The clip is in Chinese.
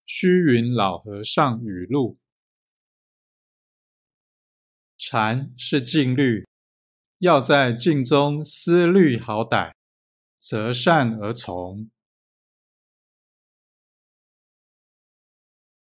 虚云老和尚语录：禅是静虑，要在静中思虑好歹，择善而从。